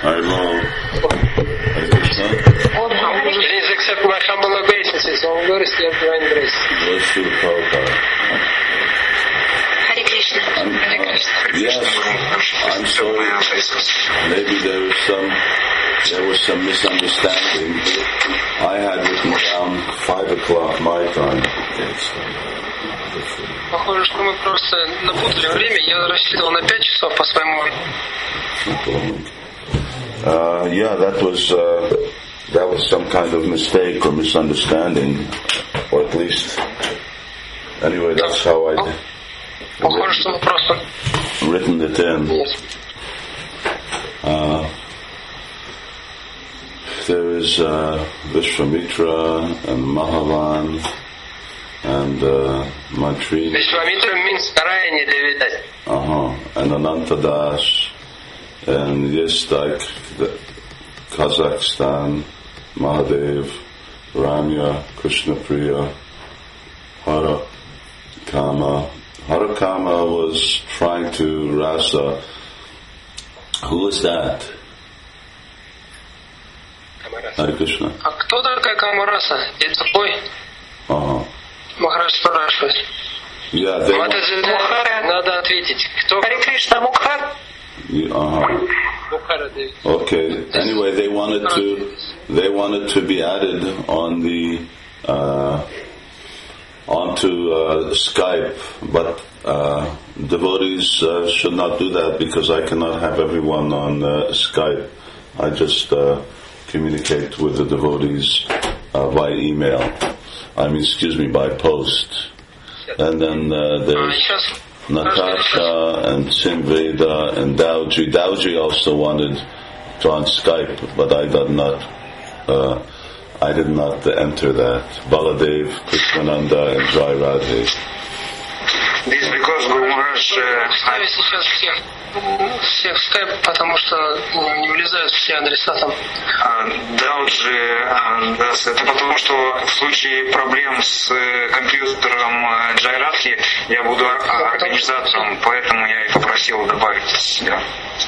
Haribo. Please accept my humble obeisances. All glories to your divine grace. Bless you, Prabhupada. Hare Krishna. Yes, I'm sorry. Maybe there was some misunderstanding. I had written down 5 o'clock my time. Похоже, что мы просто напутали время. Я рассчитывал на 5 часов по своему. Yeah, that was some kind of mistake or misunderstanding, or at least, anyway, that's how I Похоже, что мы просто. written it in. Yes. There is Vishwamitra and Mahavan and Mantri. Vishwamitra means Narayani Devitas. And Anantadas and Yestak, Kazakhstan, Mahadev, Ranya, Krishnapriya, Harakama. Harakama was trying to rasa. Who was that? Hare Krishna. А кто такая Камараса? Это такой? Махарадж спрашивает. Yeah, they надо ответить. Кто? Hare Krishna, Mukha. Мухара Деви. Okay. Anyway, they wanted to be added on the onto Skype, but devotees should not do that because I cannot have everyone on Skype. I just communicate with the devotees by email. By post. And then there's Natasha and Simveda and Dauji. Dauji also wanted to on Skype, but I did not enter that. Baladev, Krishnananda, and Jai Radhe. This is because Guru Maharaj Ставить сейчас всех в скайп, потому что не влезают все адреса там. Dauji, это потому что в случае проблем с компьютером Джайрадхи я буду организатором, поэтому я и попросил добавить себя.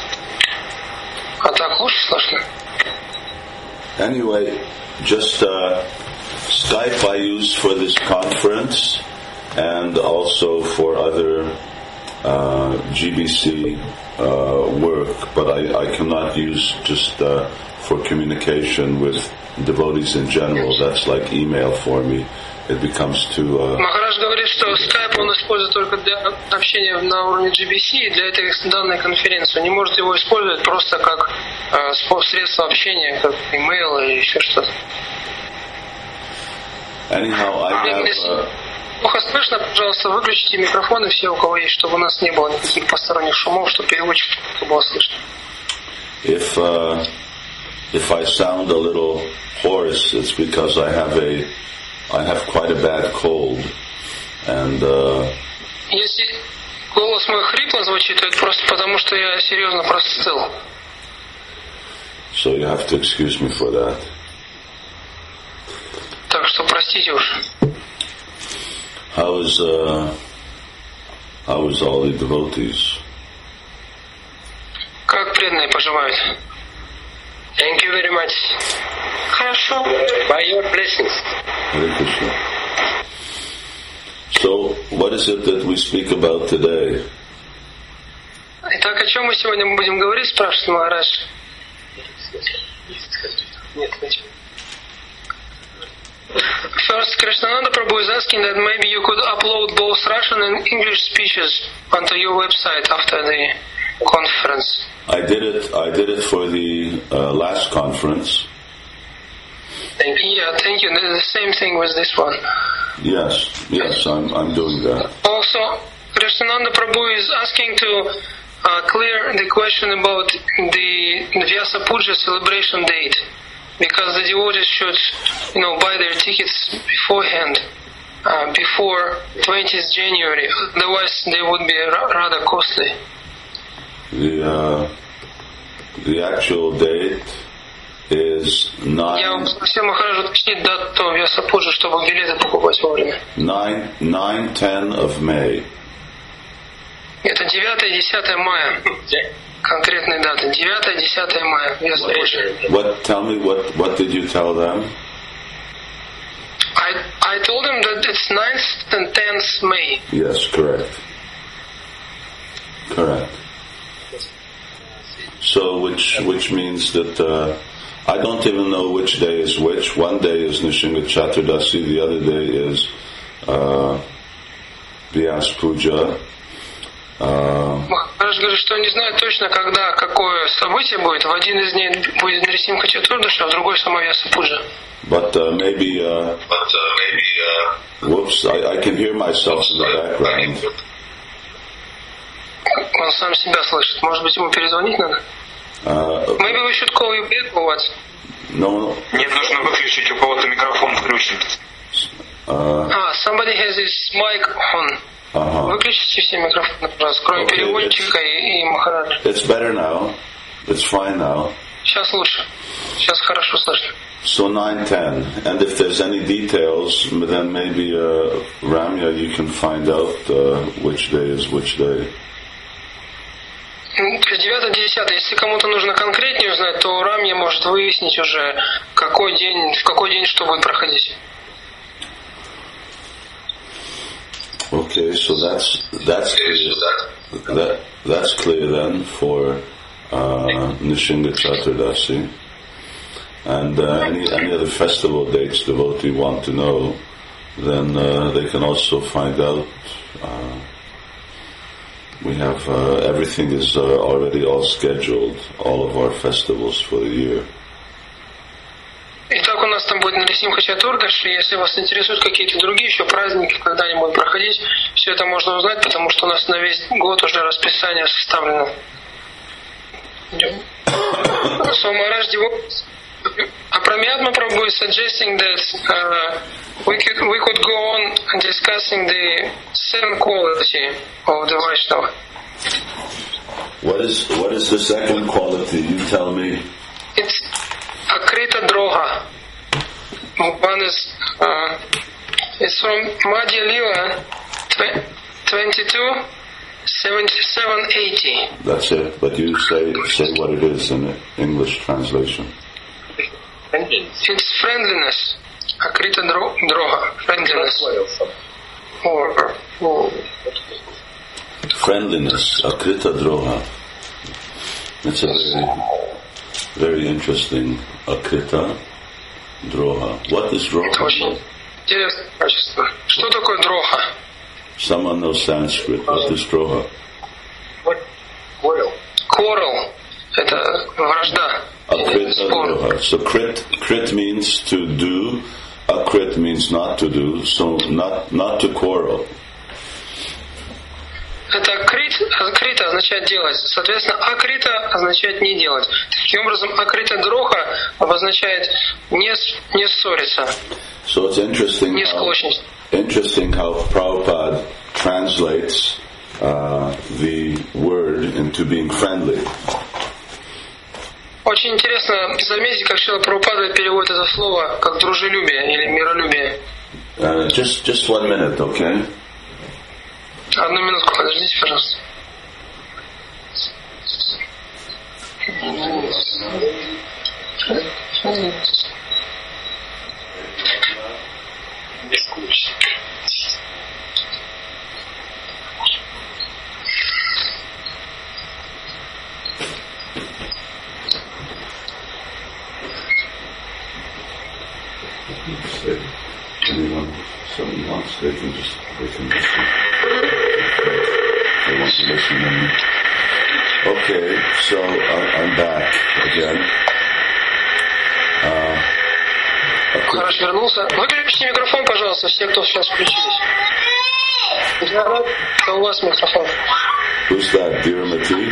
А так лучше слышно? Anyway, just Skype I use for this conference and also for other GBC work, but I cannot use just for communication with devotees in general. That's like email for me. It becomes too... Махарадж говорит, что Skype он использует только для общения на уровне GBC и для этой данной конференции. Он не может его использовать просто как средство общения, как email или еще что-то. Anyhow, I have... Плохо слышно, пожалуйста, выключите микрофоны все, у кого есть, чтобы у нас не было никаких посторонних шумов, чтобы переводчик было слышно. If I sound a little hoarse, it's because I have quite a bad cold, and если голос мой хрипло звучит, то это просто потому, что я серьезно простыл. So you have to excuse me for that. Так что простите уж. How is all the devotees? Как преданные поживают? Thank you very much. Хорошо. By your blessings. Hare Krishna. So, what is it that we speak about today? Итак, о чем мы сегодня будем говорить, спрашивает Махарадж. Нет, зачем? First, Krishnananda Prabhu is asking that maybe you could upload both Russian and English speeches onto your website after the conference. I did it for the last conference. Thank you. Yeah, thank you. The same thing with this one. Yes, I'm doing that. Also, Krishnananda Prabhu is asking to clear the question about the Vyasa Puja celebration date. Because the devotees should, buy their tickets beforehand, before 20th January. Otherwise, they would be rather costly. The actual date is 9. Я просил Махараджа уточнить дату Vyasa Puja, чтобы билеты покупать вовремя. 9-10 of May. Это 9 и 10 мая. конкретные даты. 9-10 мая. Вьяса Пуджа. Tell me, what did you tell them? I told him that it's 9th and 10th May. Yes, correct. Correct. So, which means that I don't even know which day is which. One day is Nishinga Chaturdasi, the other day is Vyas Puja. Махарадж говорит, что он не знает точно, когда какое событие будет. В один из дней будет Нарисимха Чатурдаша, а в другой сама Вьяса Пуджа. But maybe, whoops, I can hear myself in the background. Он сам себя слышит. Может быть, ему перезвонить надо? Maybe we should call you back or what? No. Нет, нужно выключить, у кого-то микрофон включен. Somebody has his mic on. Выключите все микрофоны, пожалуйста, кроме переводчика и Махараджа. It's better now. It's fine now. Сейчас лучше. Сейчас хорошо слышно. So 9-10. And if there's any details, then maybe Ramya, you can find out which day is which day. То есть 9-10. Если кому-то нужно конкретнее узнать, то Рамья может выяснить уже, в какой день что будет проходить. Okay, so that's clear then for Nishinga Chaturdasi. And any other festival dates devotee want to know, then they can also find out. We have everything is already all scheduled, all of our festivals for the year. Итак, у нас там будет Нарисимха Чатурдаши. Если вас интересуют какие-то другие еще праздники, когда они будут проходить, все это можно узнать, потому что у нас на весь год уже расписание составлено. So Maharaj Apramyatma Prabhu is suggesting that we could go on discussing the 7th quality of the Vaishnava. What is the second quality? You tell me. It's Akrita Droha. One is it's from Madhya Lila 22:77-80. That's it. But you say what it is in the English translation. It's friendliness. Akrita Droha. Friendliness. Or friendliness. Akrita Droha. It's a very interesting. Akrita Droha. What is Droha? Это очень интересное качество. Что такое Дроха? Someone knows Sanskrit. What is Droha? Quarrel. Это вражда. Akrita Droha. So krit means to do. Akrit means not to do. So not to quarrel. Это акрита означает делать. Соответственно, акрита означает не делать. Таким образом, акрита дроха обозначает не ссориться. So it's interesting how Prabhupada translates the word into being friendly. Очень интересно заметить, как Шрила Прабхупада переводит это слово как дружелюбие или миролюбие. Just 1 minute, okay? Одну минутку, подождите, пожалуйста. Somebody wants, they can listen. They want to listen. Okay, so I'm back again. Хорошо, вернулся. Выключите микрофон, пожалуйста, все, кто сейчас включились. Это у вас микрофон. Who's that, Dear Mati?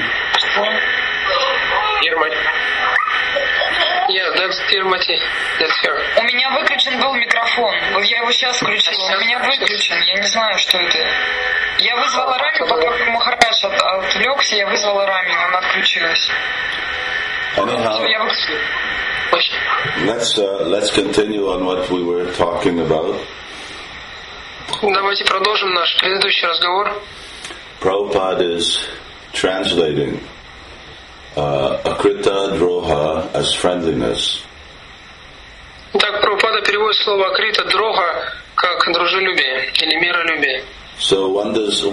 Yeah, that's Dear Mati. That's her. У меня выключен был микрофон. Я его сейчас включила. У меня выключен. Я не знаю, что это. Я вызвала Рами, пока Махарадж отвлекся, я вызвала Рами, она отключилась. Anyhow, let's continue on what we were talking about. Давайте продолжим наш предыдущий разговор. Prabhupada is translating akrita droha as friendliness. Так Прабхупада переводит слово акрита дрога как дружелюбие или миролюбие. So one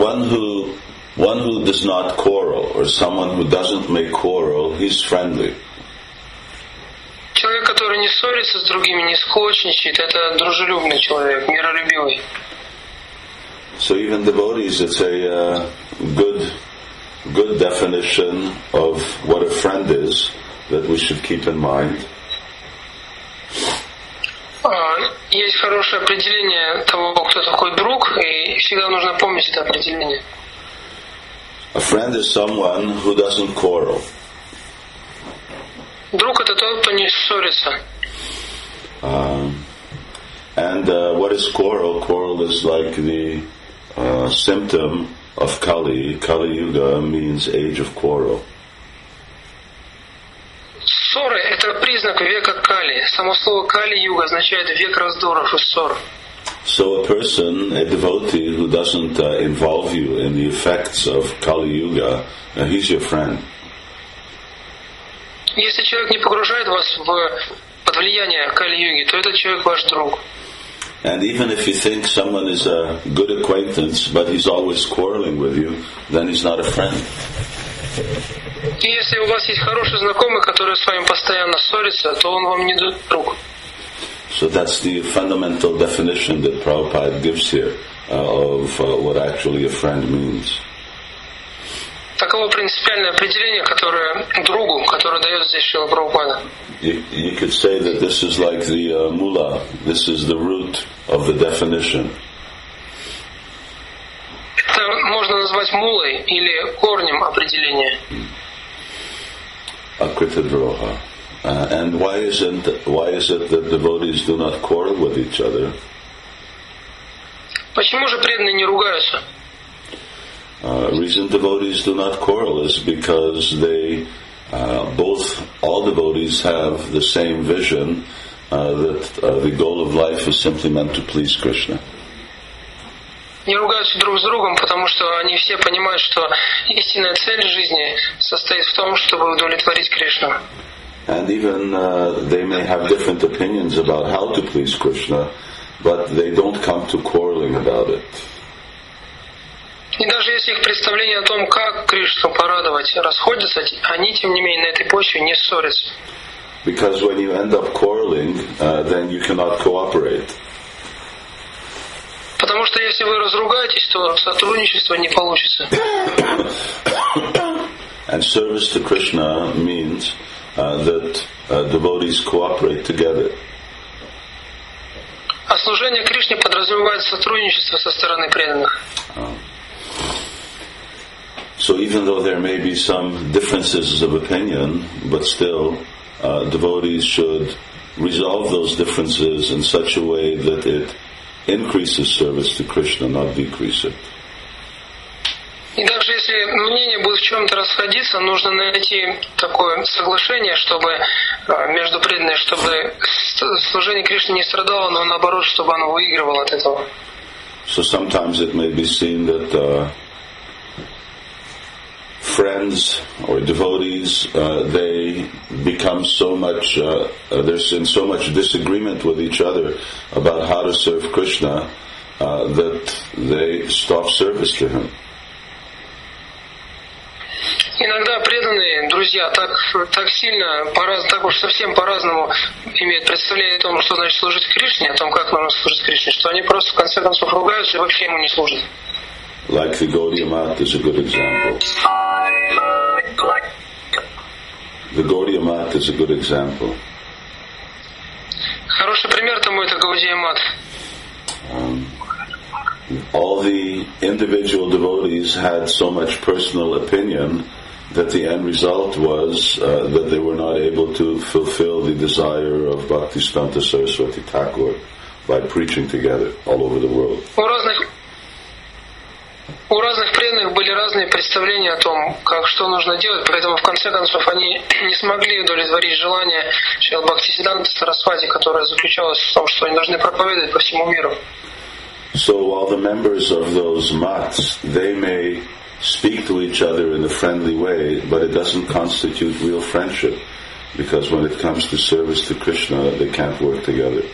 who does not quarrel, or someone who doesn't make quarrel, he's friendly. Человек, который не ссорится с другими, не склочничает, это дружелюбный человек, миролюбивый. So even devotees, it's a good definition of what a friend is that we should keep in mind. Есть хорошее определение того, кто такой друг, и всегда нужно помнить это определение. A friend is someone who doesn't quarrel. Друг — это тот, кто не ссорится. And what is quarrel? Quarrel is like the symptom of Kali. Kali Yuga means age of quarrel. Ссоры — это признак века Кали. Само слово Кали-юга означает век раздоров и ссор. So a person, a devotee who doesn't involve you in the effects of Kali Yuga, he's your friend. Если человек не погружает вас под влияние Кали-юги, то этот человек ваш друг. And even if you think someone is a good acquaintance, but he's always quarreling with you, then he's not a friend. И если у вас есть хороший знакомый, который с вами постоянно ссорится, то он вам не друг. So that's the fundamental definition that Prabhupada gives here of what actually a friend means. Таково принципиальное определение, которое другу, которое дает здесь Шрила Прабхупада. You could say that this is like the mula, this is the root of the definition. Это можно назвать мулой или корнем определения. Akrita droha. And why is it that devotees do not quarrel with each other? Почему же преданные не ругаются? Reason devotees do not quarrel is because they all devotees have the same vision that the goal of life is simply meant to please Krishna. Не ругаются друг с другом, потому что они все понимают, что истинная цель жизни состоит в том, чтобы удовлетворить Кришну. And even they may have different opinions about how to please Krishna, but they don't come to quarreling about it. И даже если их представления о том, как Кришну порадовать, расходятся, они, тем не менее, на этой почве не ссорятся. Because when you end up quarreling, then you cannot cooperate. Потому что если вы разругаетесь, то сотрудничество не получится. And service to Krishna means that devotees cooperate together. А служение Кришне подразумевает сотрудничество со стороны преданных. So even though there may be some differences of opinion, but still devotees should resolve those differences in such a way that it increases service to Krishna, not decrease it. И даже если мнения будут в чем-то расходиться, нужно найти такое соглашение, чтобы между преданными, чтобы служение Кришне не страдало, но наоборот, чтобы оно выигрывало от этого. So sometimes it may be seen that friends or devotees, they become so much, they're in so much disagreement with each other about how to serve Krishna that they stop service to him. Иногда преданные друзья так сильно, так уж совсем по-разному имеют представление о том, что значит служить Кришне, о том, как нужно служить Кришне, что они просто в конце концов ругаются и вообще ему не служат. Like the Gaudiya Math is a good example. The Gaudiya Math is a good example. Хороший пример тому это Гаудия Мат. All the individual devotees had so much personal opinion that the end result was that they were not able to fulfill the desire of Bhaktisiddhanta Saraswati Thakur by preaching together all over the world. У разных преданных были разные представления о том, что нужно делать, поэтому в конце концов они не смогли удовлетворить желание Шрилы Бхактисиддханты Сарасвати, которое заключалось в том, что они должны проповедовать по всему миру. So while the members of those maths, they may speak to each other in a friendly way, but it doesn't constitute real friendship, because when it comes to service to Krishna, they can't work together.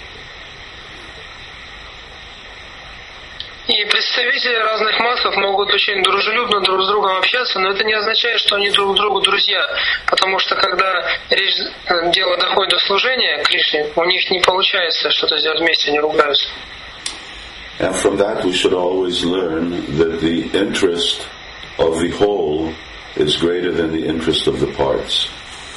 И представители разных матхов могут очень дружелюбно друг с другом общаться, но это не означает, что они друг другу друзья, потому что когда дело доходит до служения Кришне, у них не получается что-то сделать вместе, они ругаются. And from that we should always learn that the interest of the whole is greater than the interest of the parts.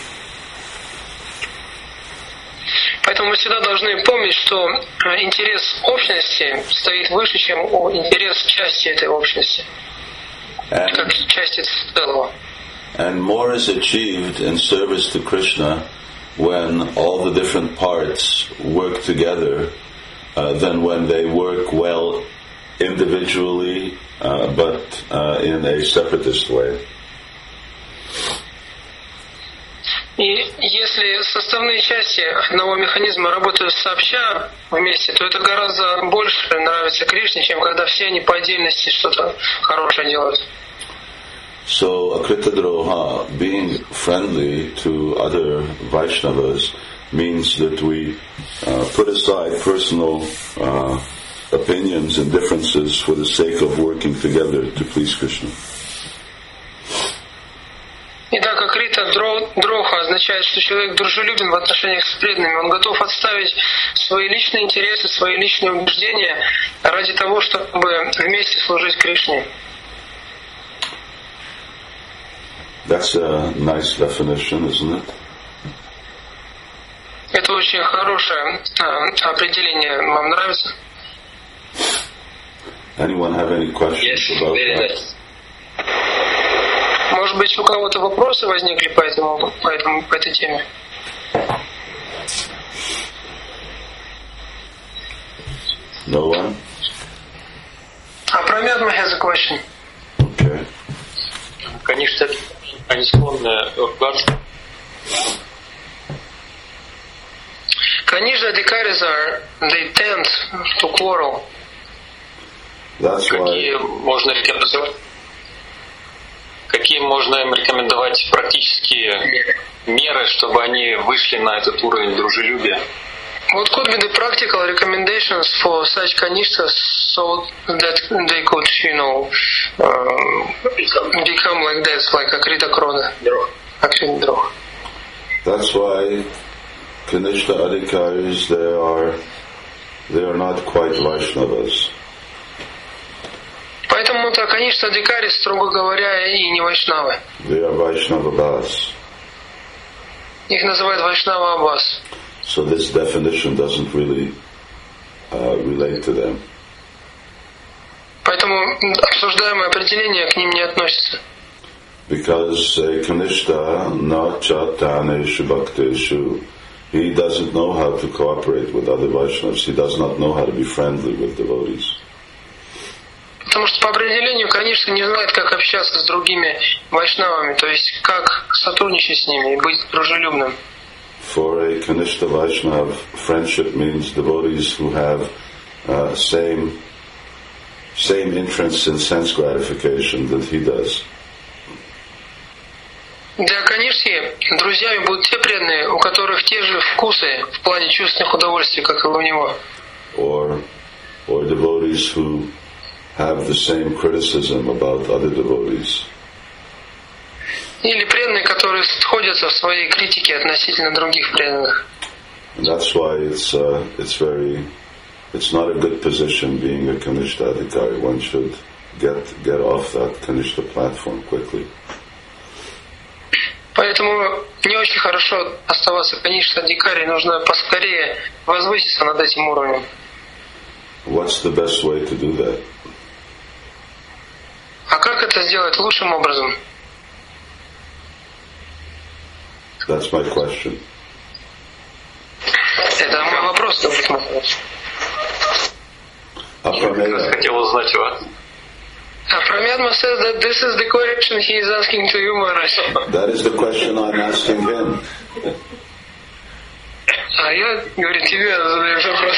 Поэтому мы всегда должны помнить, что интерес общности стоит выше, чем интерес части этой общности, как части целого. And more is achieved in service to Krishna when all the different parts work together than when they work well individually, but in a separatist way. И если составные части одного механизма работают сообща вместе, то это гораздо больше нравится Кришне, чем когда все они по отдельности что-то хорошее делают. So, Akritadroha, being friendly to other Vaishnavas, means that we put aside personal opinions and differences for the sake of working together to please Krishna. Итак, Акрита Дроха означает, что человек дружелюбен в отношениях с преданными. Он готов отставить свои личные интересы, свои личные убеждения ради того, чтобы вместе служить Кришне. That's a nice definition, isn't it? Это очень хорошее определение. Вам нравится? Anyone have any questions about that? Nice. Может быть, у кого-то вопросы возникли по этой теме? No one? Pramyatma has a question. Okay. Конечно, они склонны ругаться. Kanishta Adhikaris they tend to quarrel. That's Какие why можно им рекомендовать практические меры, чтобы они вышли на этот уровень дружелюбия? What could be the practical recommendations for such kanishtas so that they could, become like that, like Akrita Krona, Akrita Droha? That's why Kanishta Adhikaris, they are not quite Vaishnavas. Поэтому-то, конечно, Адхикари, строго говоря, и не вайшнавы. They are Vaishnava Bhas. Их называют Вайшнава Аббас. So this definition doesn't really relate to them. Поэтому обсуждаемое определение к ним не относится. Because Kanishta na chataneshu bhakteshu, he doesn't know how to cooperate with other Vaishnavas. He does not know how to be friendly with devotees. Потому что по определению, конечно, не знает, как общаться с другими вайшнавами, то есть как сотрудничать с ними и быть дружелюбным. For a Kanishta Vaishnav, friendship means devotees who have same interests in sense gratification that he does. Для Каништи друзьями будут те преданные, у которых те же вкусы в плане чувственных удовольствий, как и у него. Or devotees who have the same criticism about other devotees. Или преданные, которые сходятся в своей критике относительно других преданных. And that's why it's not a good position being a Kanishta Adhikari. One should get off that Kanishta platform quickly. Поэтому не очень хорошо оставаться Каништа Адхикари, нужно поскорее возвыситься над этим уровнем. What's the best way to do that? А как это сделать лучшим образом? That's my question. Это мой вопрос. Хотел узнать у вас. Pramyatma says that this is the question he is asking to you, Maharaj. That is the question I'm asking him. А я, говорит, тебе задаешь вопрос.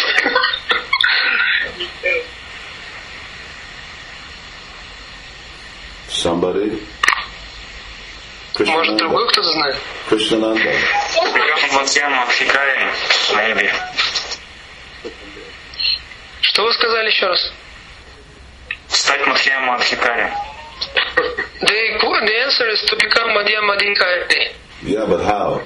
Somebody? Может, другой кто-то знает? Krishnananda. Maybe. Что вы сказали еще раз? Стать Мадхьямом Адхикари. The answer is to become Madhyama Adhikari. Yeah, but how?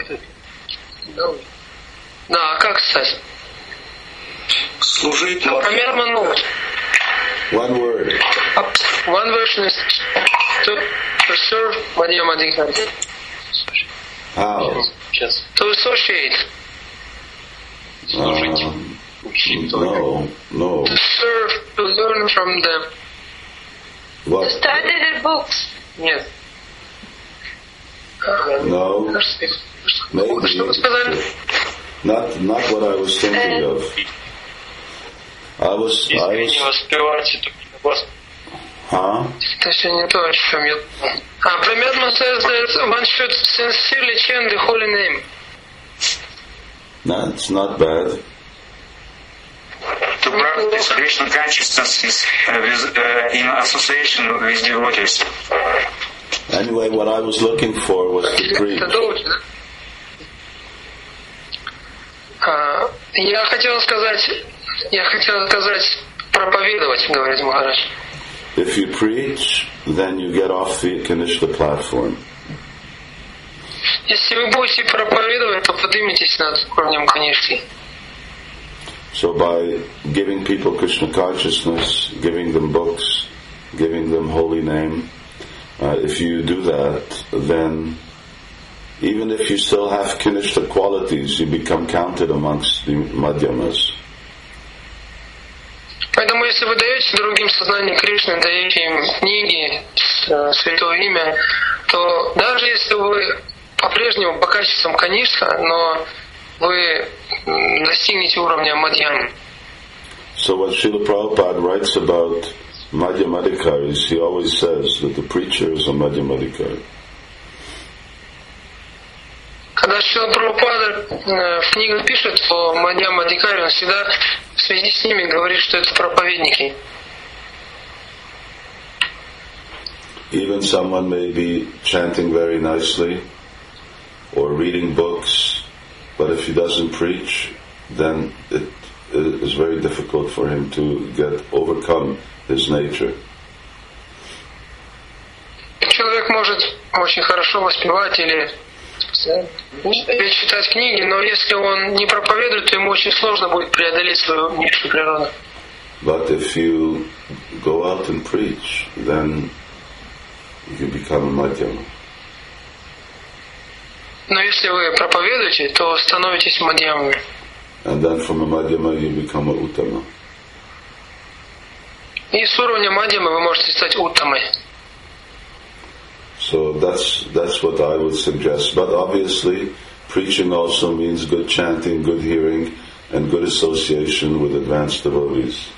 Да, а как стать? Служить Примерно, One word. one version is to serve Madhyama Adhikari. How? To associate. No. To serve, to learn from them. What? Study the books. Нет. No. Maybe. Что вы сказали? Not what I was thinking of. I was. Искренне воспевать эту вас. Huh? Это все не то, о чем я... Pramyatma says that one should sincerely chant the holy name. That's not bad. To practice Krishna consciousness is in association with devotees. Anyway, what I was looking for was to preach. Это долго, да? Я хотел сказать проповедовать, говорит Махарадж. If you preach, then you get off the Kanishta platform. Если вы будете проповедовать, то подниметесь над уровнем Канишки. So by giving people Krishna consciousness, giving them books, giving them holy name, if you do that, then even if you still have Kanishta qualities, you become counted amongst the Madhyamas. Поэтому, если вы даете другим сознание Кришны, даете им книги, святое имя, то даже если вы по-прежнему по качествам Канишка, но вы достигнете уровня Мадьямы. So when Srila Prabhupada writes about Madhyamadikaris, he always says that the preacher is a Madhyamadikari. Когда Шрила Прабхупада в книгах пишет о Мадьяма Адхикари, он всегда в связи с ними говорит, что это проповедники. Even someone may be chanting very nicely or reading books, but if he doesn't preach, then it is very difficult for him to overcome his nature. Человек может очень хорошо воспевать или читать книги, но если он не проповедует, то ему очень сложно будет преодолеть свою низшую природу. But if you go out and preach, then you become a Madhyama. Но если вы проповедуете, то становитесь Мадьямами. And then from a Madhyama you become a Uttama. И с уровня Мадьямы вы можете стать Уттамой. So that's what I would suggest. But obviously, preaching also means good chanting, good hearing, and good association with advanced devotees.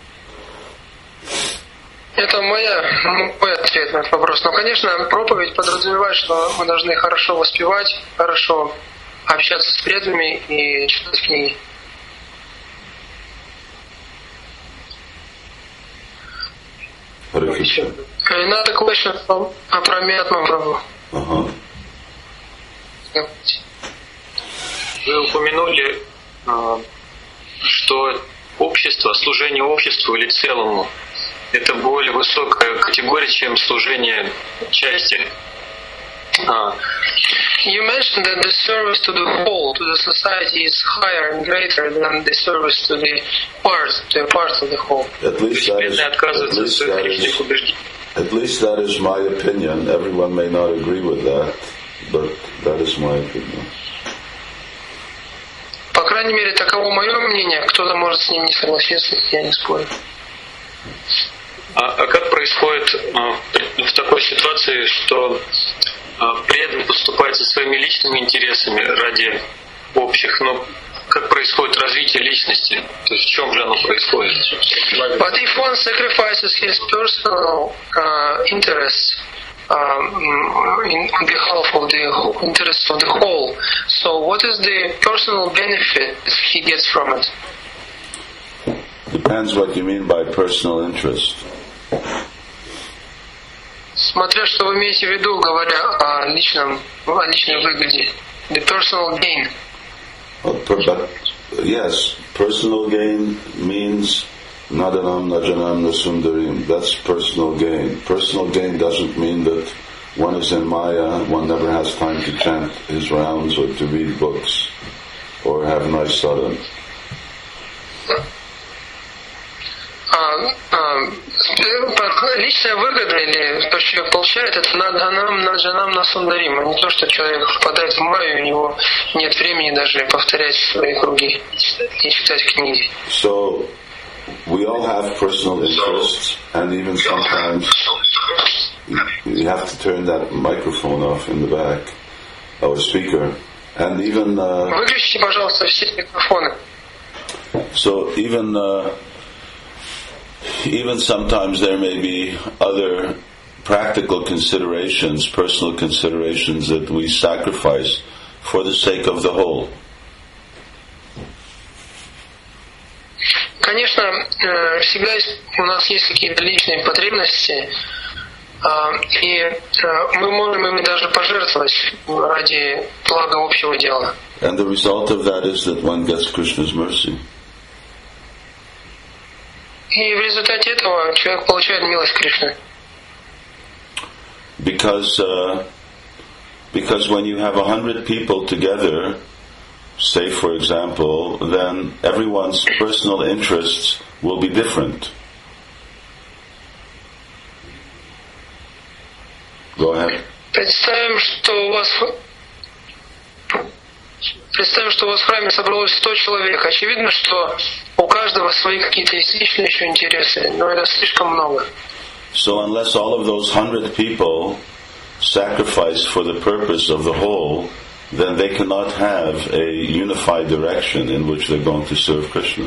Это мой ответ на этот вопрос. Но, конечно, проповедь подразумевает, что мы должны хорошо воспевать, хорошо общаться с преданными и читать книги. Another question from Pramyatma Prabhu. Вы упомянули, что общество, служение обществу или целому — это более высокая категория, чем служение части. You mentioned that the service to the whole, to the society, is higher and greater than the service to a part of the whole. At least that is my opinion. Everyone may not agree with that, but that is my opinion. По крайней мере, таково мое мнение. Кто-то может с ним не согласиться, я не спорю. А как происходит в такой ситуации, что преданный поступает со своими личными интересами ради общих, но как происходит развитие личности? То есть в чем же оно происходит? But if one sacrifices his personal interests on behalf of the interests of the whole, so what is the personal benefit he gets from it? Depends what you mean by personal interest. Смотря что вы имеете в виду, говоря о личной выгоде. The personal gain. But yes, personal gain means nadanam najanam nasundarim. That's personal gain. Personal gain doesn't mean that one is in Maya, one never has time to chant his rounds or to read books or have nice sadhana. Личная выгода или то, что человек получает, это наданам, наджанам, насундарим, а не то, что человек впадает в Майю, у него нет времени даже повторять свои круги и читать книги. So we all have personal interests, and even sometimes you have to turn that microphone off in the back, or speaker, and even. Выключите, пожалуйста, все микрофоны. So even sometimes there may be other practical considerations, personal considerations that we sacrifice for the sake of the whole. Конечно, всегда у нас есть какие-то личные потребности, и мы можем ими даже пожертвовать ради блага общего дела. And the result of that is that one gets Krishna's mercy. И в результате этого человек получает милость Кришны. Because when you have 100 people together, say for example, then everyone's personal interests will be different. Go ahead. Представим, что у вас в храме собралось 100 человек. Очевидно, что у каждого свои какие-то есть личные еще интересы, но это слишком много. So unless all of those 100 people sacrifice for the purpose of the whole, then they cannot have a unified direction in which they're going to serve Krishna.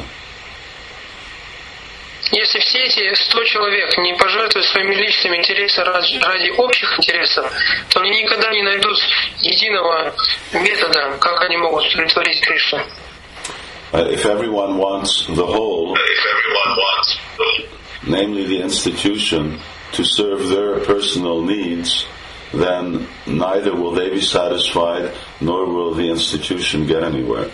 Если все эти 100 человек не пожертвуют своими личными интересами ради общих интересов, то они никогда не найдут единого метода, как они могут удовлетворить Кришну. If everyone wants the whole, namely the institution, to serve their personal needs, then neither will they be satisfied, nor will the institution get anywhere.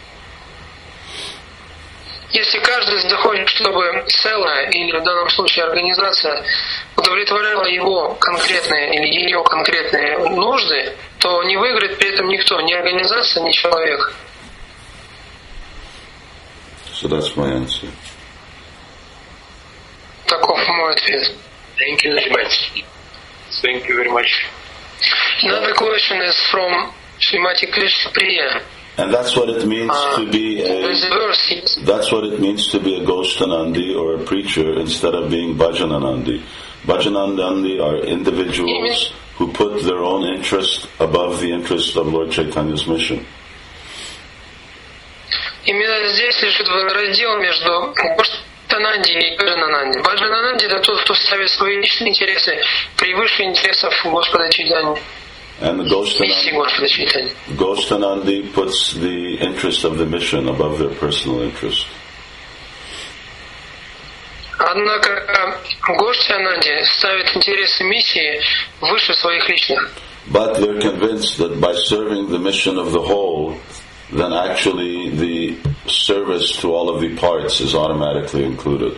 Если каждый захочет, чтобы целое, или в данном случае организация, удовлетворяла его конкретные или ее конкретные нужды, то не выиграет при этом никто, ни организация, ни человек. So that's my answer. Таков мой ответ. Thank you very much. Thank you very much. Another question is from Srimati Krishna Priya. And that's what it means to be that's what it means to be a Goshtanandi or a preacher instead of being Bhajananandi. Bhajananandi are individuals who put their own interest above the interest of Lord Chaitanya's mission. Именно здесь лежит раздел между Гоштананди и Баджанананди. Баджанананди — это тот, кто ставит свои личные интересы превыше интересов Господа Чайтаньи. And the Goshtanandi puts the interest of the mission above their personal interest. Однако Гоштананди ставит интересы миссии выше своих личных. But they're convinced that by serving the mission of the whole, then actually the service to all of the parts is automatically included.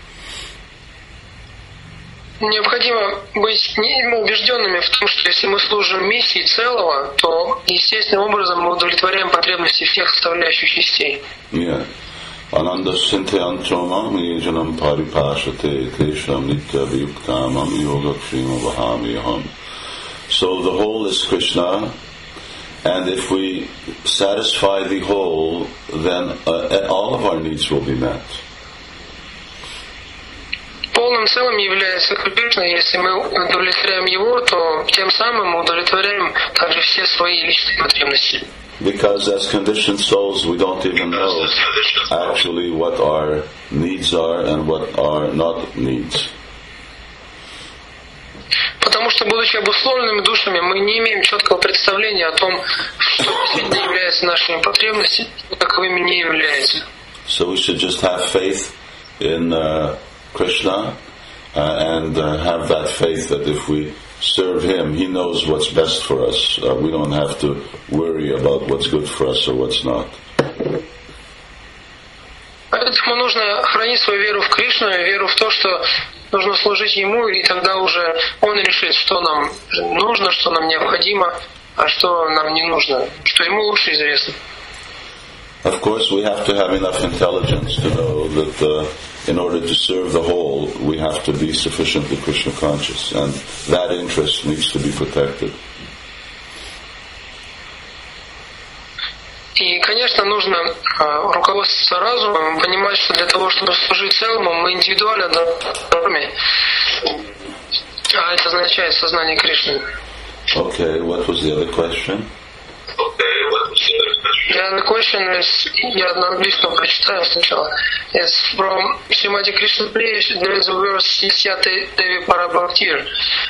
Необходимо быть убежденными в том, что если мы служим миссии целого, то естественным образом мы удовлетворяем потребности всех составляющих частей. So the whole is Krishna, and if we satisfy the whole, then all of our needs will be met. Полным целым является Кришна. Если мы удовлетворяем его, то тем самым мы удовлетворяем также все свои личные потребности. Because as conditioned souls, we don't even know actually what our needs are and what are not needs. Потому что, будучи обусловленными душами, мы не имеем четкого представления о том, что действительно является нашими потребностями, и таковыми не является. So we should just have faith in Krishna, and have that faith that if we serve Him, He knows what's best for us. We don't have to worry about what's good for us or what's not. Поэтому нужно хранить свою веру в Кришну, веру в то, что нужно служить Ему, и тогда уже Он решит, что нам нужно, что нам необходимо, а что нам не нужно, что Ему лучше известно. Of course, we have to have enough intelligence to know that in order to serve the whole, we have to be sufficiently Krishna conscious, and that interest needs to be protected. И, конечно, нужно руководствоваться разумом, понимать, что для того, чтобы служить целому, мы индивидуально должны, а это означает сознание Кришны. Okay, what was the other question? The other question is, я на английском прочитаю сначала. It's from Srimati Krishna Priya. There is a verse, Sisyate Devi Parabhaktir,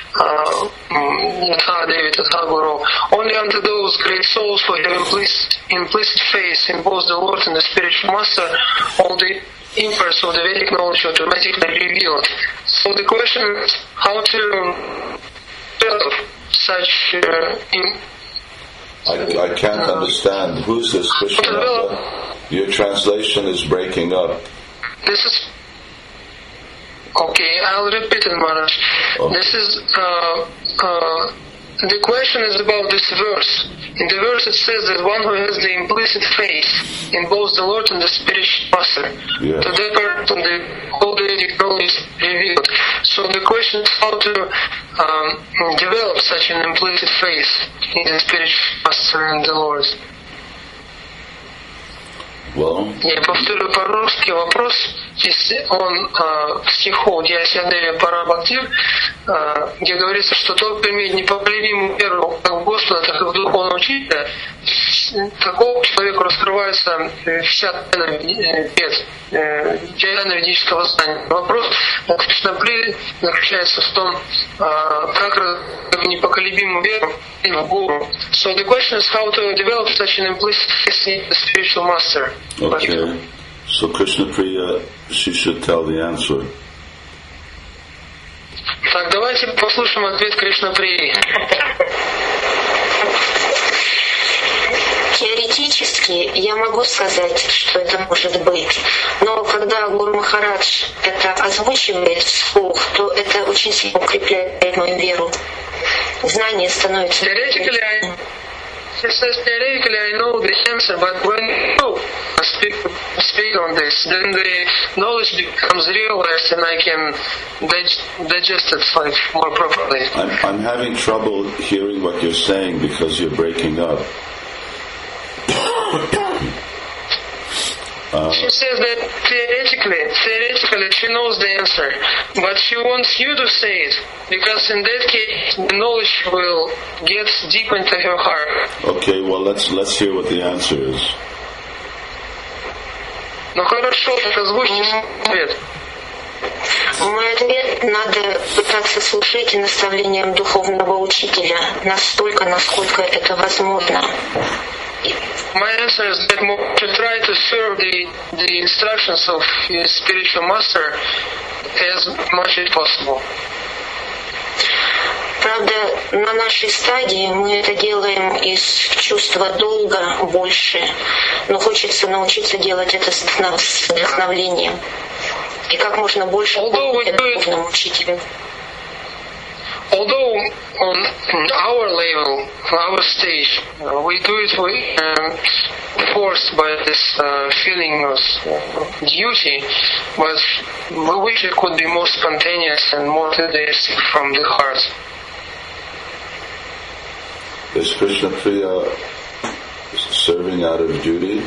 Yatha Devi Tatha Guru. Only unto those great souls who have implicit faith in both the Lord and the spiritual master, all the impulse of the Vedic knowledge automatically revealed. So the question is, how to develop such I can't understand. Who's this Krishna? Your translation is breaking up. This is... Okay, I'll repeat it, Maharaj. Oh. This is... the question is about this verse. In the verse it says that one who has the implicit faith in both the Lord and the spiritual master, yes, to that person the whole Vedic knowledge is revealed. So the question is how to develop such an implicit faith in the spiritual master and the Lord. Well, я повторю по-русски вопрос. Он в стиху Дьясядеви Парабхактир, где говорится, что тот, кто имеет непоколебимую веру как в Господа, так и в духовного учителя, такому человеку раскрывается вся тайна ведического знания. Вопрос Кришнапри заключается в том, как непоколебимую веру в Гуру. So the question is how to develop such an implicit faith in the spiritual master. Okay. So Krishna Priya, she should tell the answer. Так, давайте послушаем ответ Кришна Прии. Теоретически я могу сказать, что это может быть, но когда Гуру Махарадж это озвучивает вслух, то это очень сильно укрепляет мою веру. Знание становится... He says, theoretically I know the answer, but when you speak on this, then the knowledge becomes realized and I can digest it like more properly. I'm having trouble hearing what you're saying because you're breaking up. She says that theoretically she knows the answer, but she wants you to say it, because in that case the knowledge will get deep into her heart. Okay, well let's hear what the answer is. Ну хорошо, так озвучьте ответ. Мой ответ: надо пытаться служить наставлениям духовного учителя настолько, насколько это возможно. My answer is that one should try to serve the instructions of his spiritual master as much as possible. Правда, на нашей стадии мы это делаем из чувства долга больше, но хочется научиться делать это с вдохновением. И как можно больше помогать духовному учителю. Although on our level, our stage, we do it forced by this feeling of duty, but we wish it could be more spontaneous and more enthusiastic from the heart. Is Krishna Priya serving out of duty?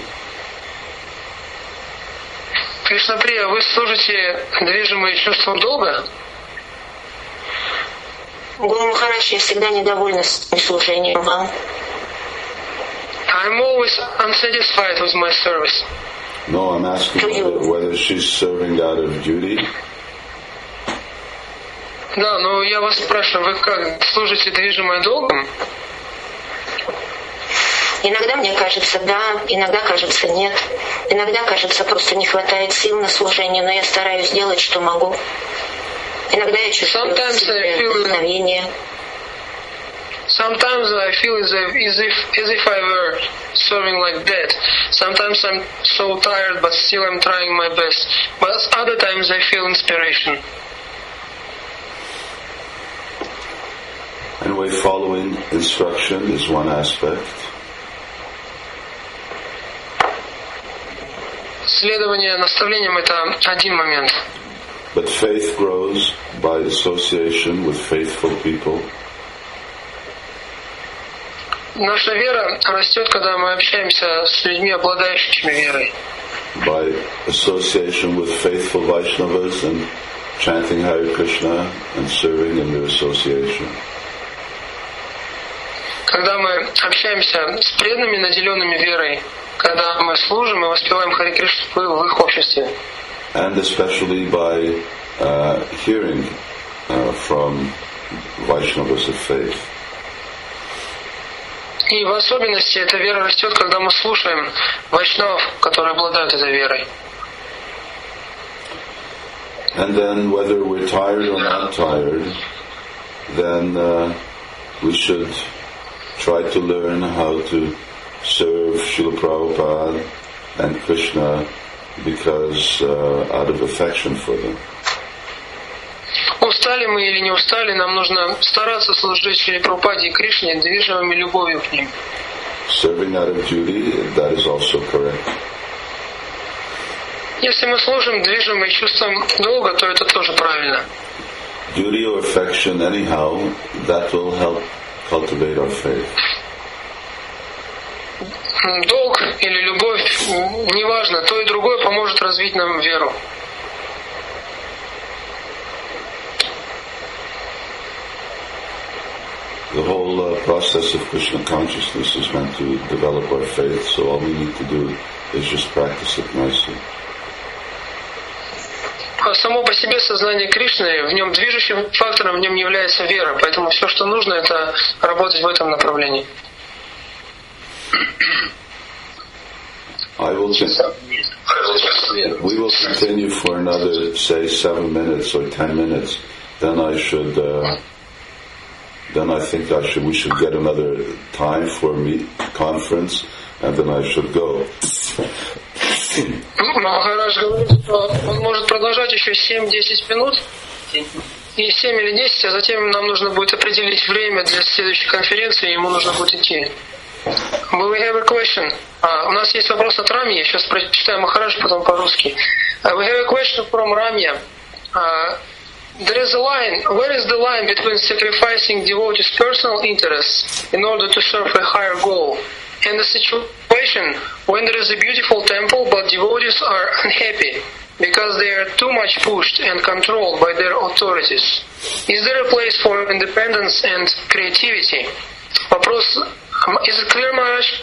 Кришна Прия, вы служите движимые чувством долга? Гуру Махарадж, я всегда недовольна своим служением вам. I'm always unsatisfied with my service. No, I'm asking whether she's serving out of duty. Да, но я вас спрашиваю, вы как, служите движимой долгом? Иногда мне кажется да, иногда кажется нет. Иногда кажется просто не хватает сил на служение, но я стараюсь делать, что могу. Иногда я чувствую вдохновение. Sometimes I feel as if I were serving like that. Sometimes I'm so tired, but still I'm trying my best. But other times I feel inspiration. Anyway, following instruction is one aspect. Следование наставлениям — это один момент. But faith grows by association with faithful people. Наша вера растет, когда мы общаемся с людьми, обладающими верой. By association with faithful Vaishnavas and chanting Hare Krishna and serving in their association. Когда мы общаемся с преданными, наделенными верой, когда мы служим и воспеваем Харе Кришну в их обществе. And especially by hearing from Vaishnavas of faith. И в особенности эта вера растет, когда мы слушаем вайшнавов, которые обладают этой верой. And then whether we're tired or not tired, then we should try to learn how to serve Srila Prabhupada and Krishna because out of affection for them. Устали мы или не устали, нам нужно стараться служить Шриле Прабхупаде и Кришне, движимыми любовью к ним. Serving out of duty, that is also correct. Если мы служим движимые чувством долга, то это тоже правильно. Duty or affection, anyhow, that will help cultivate our faith. Долг или любовь, неважно, то и другое поможет развить нам веру. The whole process of Krishna consciousness is meant to develop our faith, so all we need to do is just practice it nicely. Само по себе сознание Кришны, в нем движущим фактором в нем является вера, поэтому все, что нужно, это работать в этом направлении. We will continue for another, say, 7 minutes or 10 minutes. Then I think we should get another time for a conference, and then I should go. Махарадж говорит, что он может продолжать еще 7-10 минут, и 7 или 10, а затем нам нужно будет определить время для следующей конференции, и ему нужно будет идти. We have a question. У нас есть вопрос от Рамьи, я сейчас прочитаю Махарадж, потом по-русски. We have a question from Ramya. There is a line. Where is the line between sacrificing devotees' personal interests in order to serve a higher goal, and the situation when there is a beautiful temple but devotees are unhappy because they are too much pushed and controlled by their authorities? Is there a place for independence and creativity? Вопрос. Is it clear, Maharaj?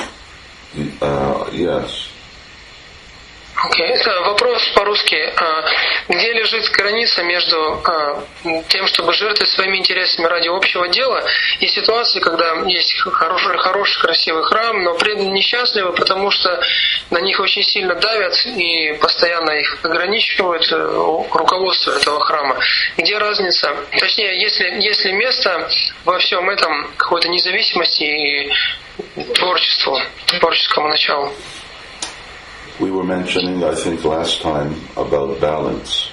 Yes. Okay. Вопрос по-русски. Где лежит граница между тем, чтобы жертвовать своими интересами ради общего дела, и ситуацией, когда есть хороший, красивый храм, но преданные несчастливы, потому что на них очень сильно давят и постоянно их ограничивают руководство этого храма. Где разница? Точнее, есть ли место во всем этом какой-то независимости и творческому началу? We were mentioning, I think, last time about balance.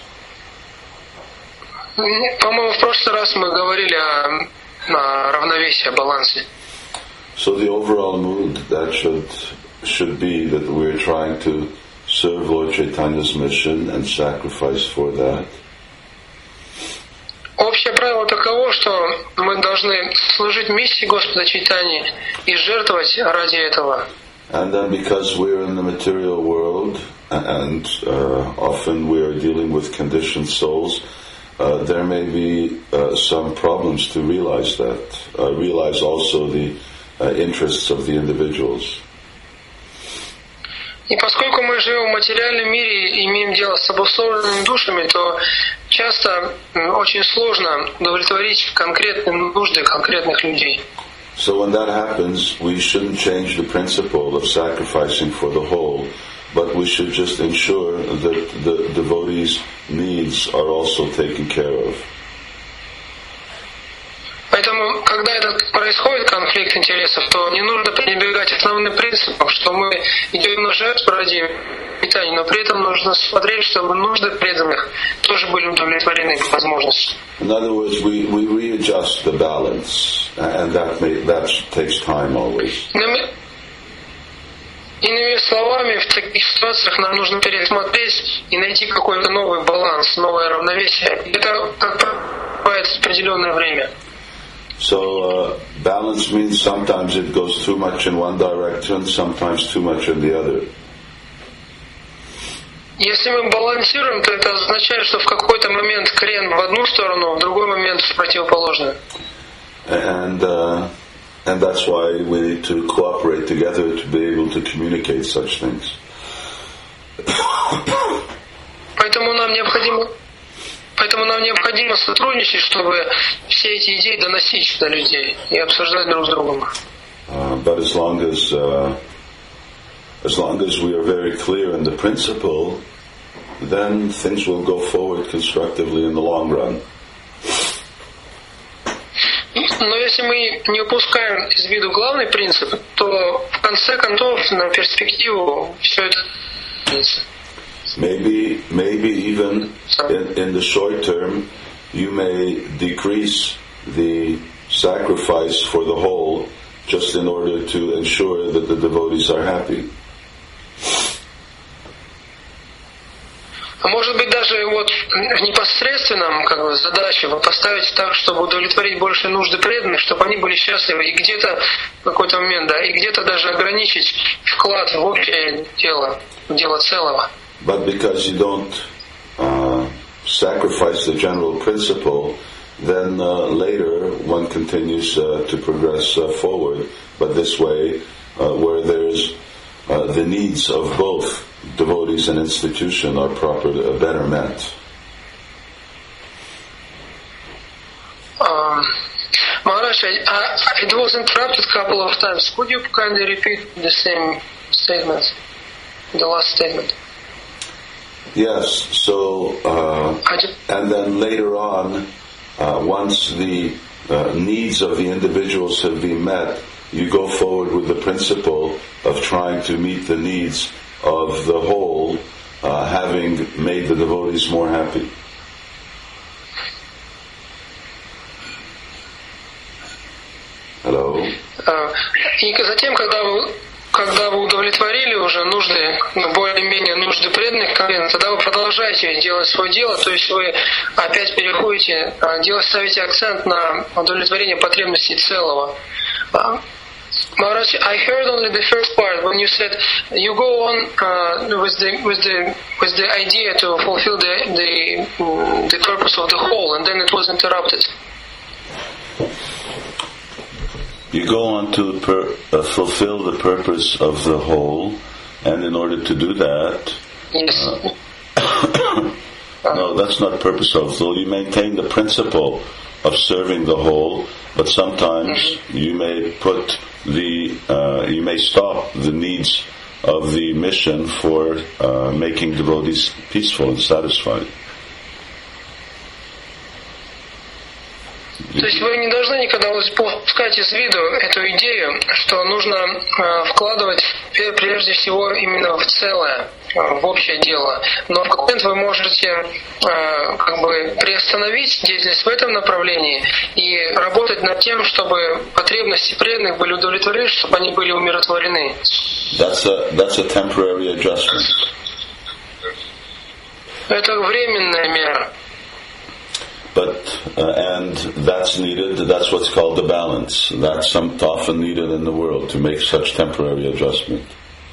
По-моему, в прошлый раз мы говорили о равновесии, о балансе. So the overall mood that should be that we're trying to serve Lord Chaitanya's mission and sacrifice for that. Общее правило таково, что мы должны служить миссии Господа Чайтаньи и жертвовать ради этого. And then because we're in the material world and often we are dealing with conditioned souls, there may be some problems to realize that. Realize also the interests of the individuals. И поскольку мы живем в материальном мире и имеем дело с обусловленными душами, то часто очень сложно удовлетворить конкретные нужды конкретных людей. So when that happens, we shouldn't change the principle of sacrificing for the whole, but we should just ensure that the devotees' needs are also taken care of. Поэтому, когда происходит конфликт интересов, то не нужно пренебрегать основным принципом, что мы идем на жертву ради питания, но при этом нужно смотреть, чтобы нужды преданных тоже были удовлетворены по возможности. In other words, we readjust the balance, and that takes time always. Иными словами, в таких ситуациях нам нужно пересмотреть и найти какой-то новый баланс, новое равновесие. Это как бывает определенное время. So balance means sometimes it goes too much in one direction, sometimes too much in the other. Если мы балансируем, то это означает, что в какой-то момент крен в одну сторону, в другой момент в противоположную. And that's why we need to cooperate together to be able to communicate such things. Поэтому нам необходимо сотрудничать, чтобы все эти идеи доносить до людей и обсуждать друг с другом. But as long as we are very clear in the principle, then things will go forward constructively in the long run. Но если мы не упускаем из виду главный принцип, то в конце концов на перспективу все это. Maybe even in the short term, you may decrease the sacrifice for the whole, just in order to ensure that the devotees are happy. Может быть, даже вот в непосредственном задаче поставить так, чтобы удовлетворить больше нужды преданных, чтобы они были счастливы, и где-то в какой-то момент, и где-то даже ограничить вклад в общее дело, в дело целого. But because you don't sacrifice the general principle, then later one continues to progress forward. But this way, where there's the needs of both devotees and institution are better met. Maharaj, it was interrupted a couple of times. Could you kindly repeat the same statement, the last statement? Yes, so, and then later on, once the needs of the individuals have been met, you go forward with the principle of trying to meet the needs of the whole, having made the devotees more happy. Hello? И затем, когда вы удовлетворили уже нужды, более-менее нужды преданных, тогда вы продолжаете делать свое дело, то есть вы опять переходите, ставите акцент на удовлетворение потребностей целого. Maharaj, I heard only the first part when you said you go on with the idea to fulfill the purpose of the whole, and then it was interrupted. You go on to fulfill the purpose of the whole, and in order to do that, yes. No, that's not purpose of the whole. You maintain the principle of serving the whole, but sometimes you may you may stop the needs of the mission for making devotees peaceful and satisfied. То есть вы не должны никогда упускать из виду эту идею, что нужно вкладывать прежде всего именно в целое, в общее дело. Но в какой момент вы можете приостановить деятельность в этом направлении и работать над тем, чтобы потребности преданных были удовлетворены, чтобы они были умиротворены. That's a temporary adjustment. Это временная мера. But and that's needed. That's what's called the balance. That's often needed in the world to make such temporary adjustment.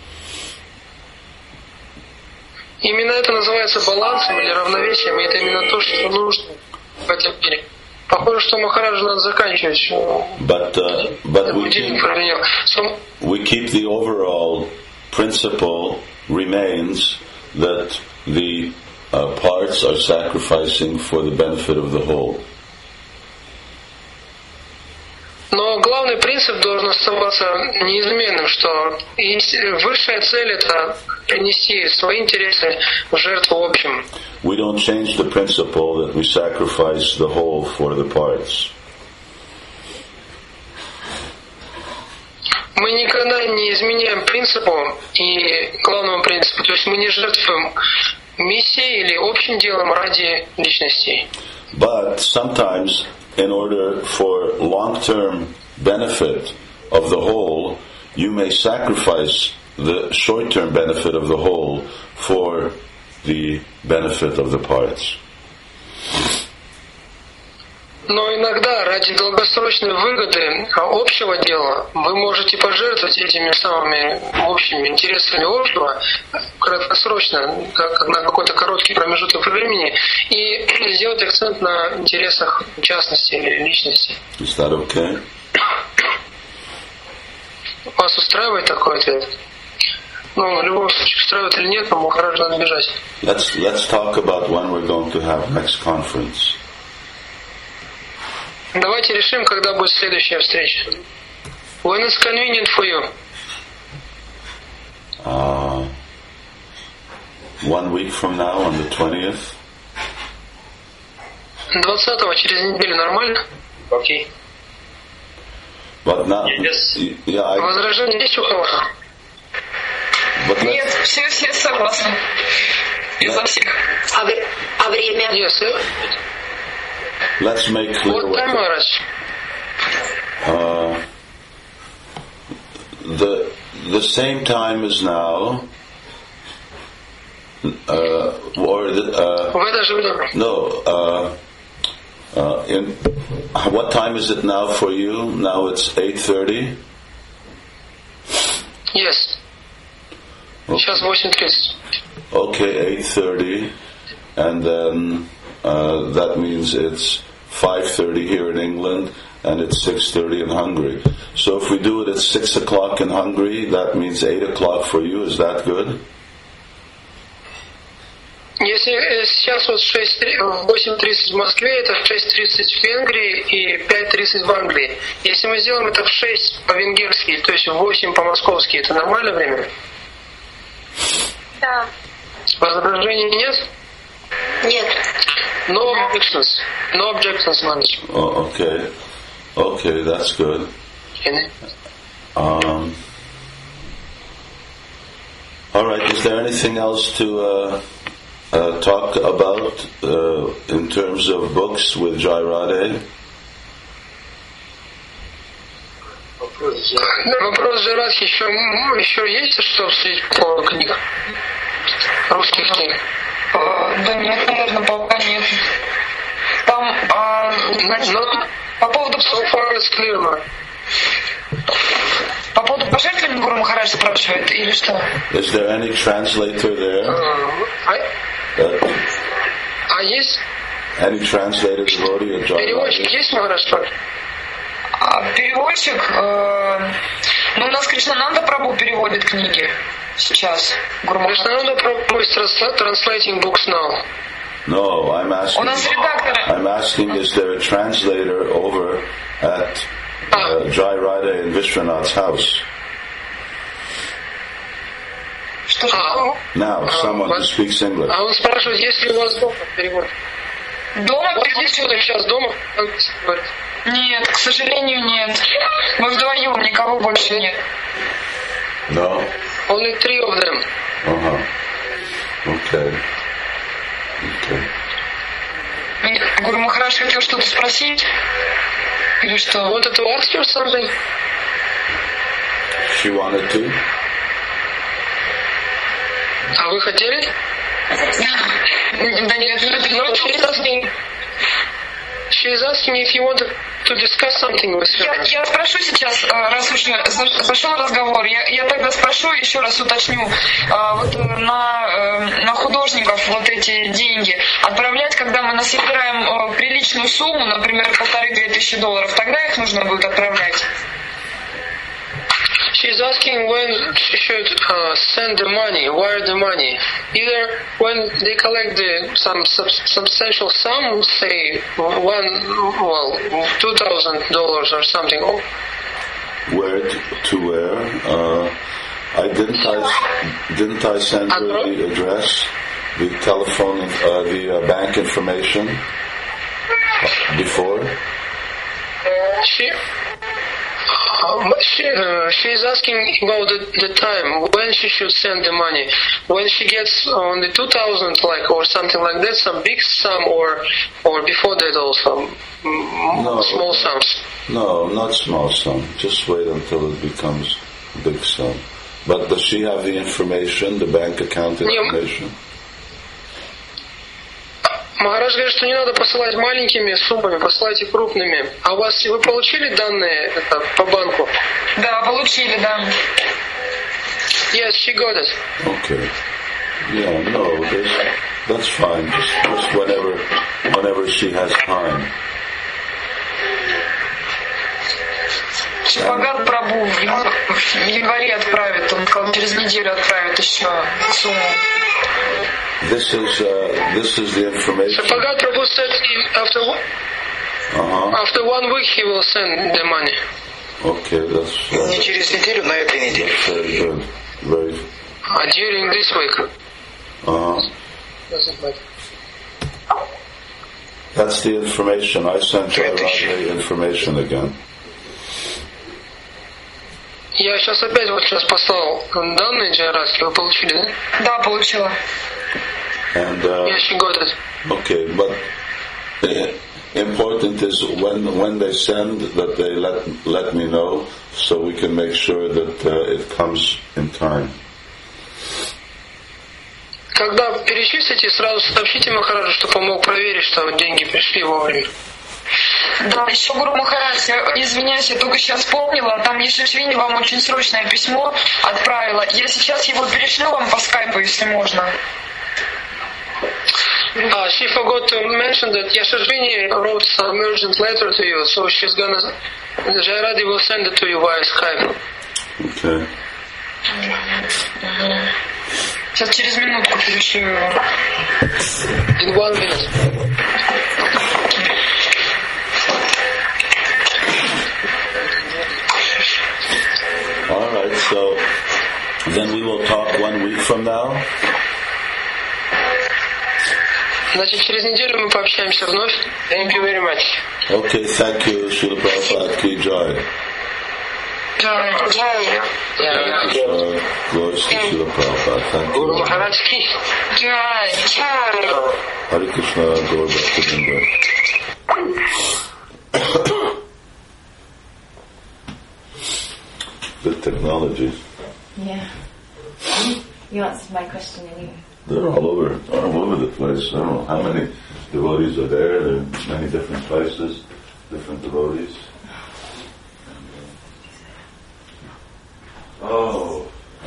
Именно это называется балансом или равновесием, и это именно то, что нужно в этом мире. Похоже, что Махараджа надо заканчивать. But we keep the overall principle remains that the parts are sacrificing for the benefit of the whole. Но главный принцип должен оставаться неизменным, что высшая цель — это принести свои интересы в жертву общим. We don't change the principle that we sacrifice the whole for the parts. Мы никогда не изменяем принципу и главному принципу, то есть мы не жертвуем миссией или общим делом ради личностей. But sometimes, in order for long-term benefit of the whole, you may sacrifice the short-term benefit of the whole for the benefit of the parts. Но иногда ради долгосрочной выгоды общего дела вы можете пожертвовать этими самыми общими интересами общего краткосрочно, как на какой-то короткий промежуток времени, и сделать акцент на интересах частности или личности. Is that okay? Вас устраивает такой ответ? Ну, в любом случае, устраивает или нет, но Махарадж надо бежать. Let's talk about when we're going to have next conference. Давайте решим, когда будет следующая встреча. When it's convenient for you. 1 week from now, on the 20th. 20-го, через неделю, нормально? Окей. But now, Возражения есть у кого-то? Нет, все согласны. Изо всех. А время? Yes. Let's make clear What time, Maharaj? The same time as now, or the, В это же время. no. What time is it now for you? Now it's 8:30. Yes. Сейчас 8:30. Okay, 8:30, and then that means it's 5:30 here in England, and it's 6:30 in Hungary. So if we do it at 6 o'clock in Hungary, that means 8 o'clock for you. Is that good? Если сейчас вот 8:30 в Москве, это 6:30 в Венгрии и 5:30 в Англии. Если мы сделаем это в 6 по-венгерски, то есть в 8 по-московски, это нормальное время? Да. Возражений нет? Нет. No objections. No objections, Maharaj. Oh, okay. Okay, that's good. All right. Is there anything else to talk about in terms of books with Jai Radhe? Вопрос Джайрадхи еще есть, что обсудить по книгам? Русских книг? Да нет, наверное, пока нет. Там по поводу по поводу пожертвований Гуру Махарадж спрашивает, или что? Is there any translator there? Есть? Any translator devotee of Jai Переводчик Radhe? есть, Махарадж? Переводчик, у нас Кришнананда Прабху переводит книги сейчас. Кришнананда Прабху is translating books now. No, I'm У нас редактор. asking, is there a translator over at Jai Radhe in Vishwanath's house? Что? Now, someone who speaks English. А он спрашивает, есть ли у вас дома перевод? Дома Вот перевод? есть кто-то сейчас дома? Нет, к сожалению, нет. Мы вдвоем, никого больше нет. No? Only 3 of them. Uh-huh. Okay. Okay. Гуру Махарадж хотел что-то спросить? Или что? Wanted to ask you something? She wanted to? А вы хотели? Да нет, No, she's asking if you wanted to discuss something with her. Я спрошу сейчас, раз уже зашел разговор, я тогда спрошу, еще раз уточню, вот на художников вот эти деньги отправлять, когда мы насобираем приличную сумму, например, $1500-2000, тогда их нужно будет отправлять? She's asking when she should send the money, wire the money. Either when they collect some substantial sum, say $2,000 or something, where to where. Didn't I send her the address, the telephone, the bank information before? She's asking about the time when she should send the money. When she gets on the 2,000, or something like that, some big sum, or before that also small sums. No, not small sum. Just wait until it becomes big sum. But does she have the information, the bank account information? Махарадж говорит, что не надо посылать маленькими суммами, посылайте крупными. А вы получили данные по банку? Да, получили, да. Yes, she got it. Okay. Yeah, no, that's fine. Just whenever she has time. Шипагат Прабhu в январе отправит, он сказал, через неделю отправит еще сумму. This is the information. Shipagata Prabhu said after 1 week he will send the money. Okay, that's не через неделю, на этой неделе. Very good. Very. During this week. Doesn't matter. That's the information. I sent her the information again. Я сейчас опять послал данные Джайрадхи. Вы получили, да? Да, получила. And yes, she got it. Okay, but important is when they send that they let me know so we can make sure that it comes in time. Когда перечислите, сразу сообщите Махараджу, чтобы он мог проверить, что деньги пришли вовремя. Да, еще Гуру Махарадж, извиняюсь, я только сейчас вспомнила, там Ешишвини вам очень срочное письмо отправила. Я сейчас его перешлю вам по скайпу, если можно. She forgot to mention that Yashashvini wrote some urgent letter to you, so she's gonna, Jairadi will send it to you via Skype. Okay. Сейчас через минутку перешлю его. In 1 minute. All right, so then we will talk 1 week from now. Значит, через неделю мы пообщаемся вновь. Thank you very much. Okay, thank you, Srila Prabhupada Ki Jai. Jai. Glory to Srila Prabhupada. Thank you. Guru Maharaj Ki. Jai. Hare Krishna, Gaur Bhaktivinoda. Good technology. Yeah. You answered my question anyway. They're all over the place. I don't know how many devotees are there. There are many different places, different devotees. Oh.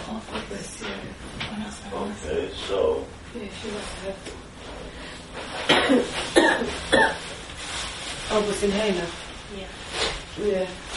Okay, so. Oh, was in Hena? Yeah.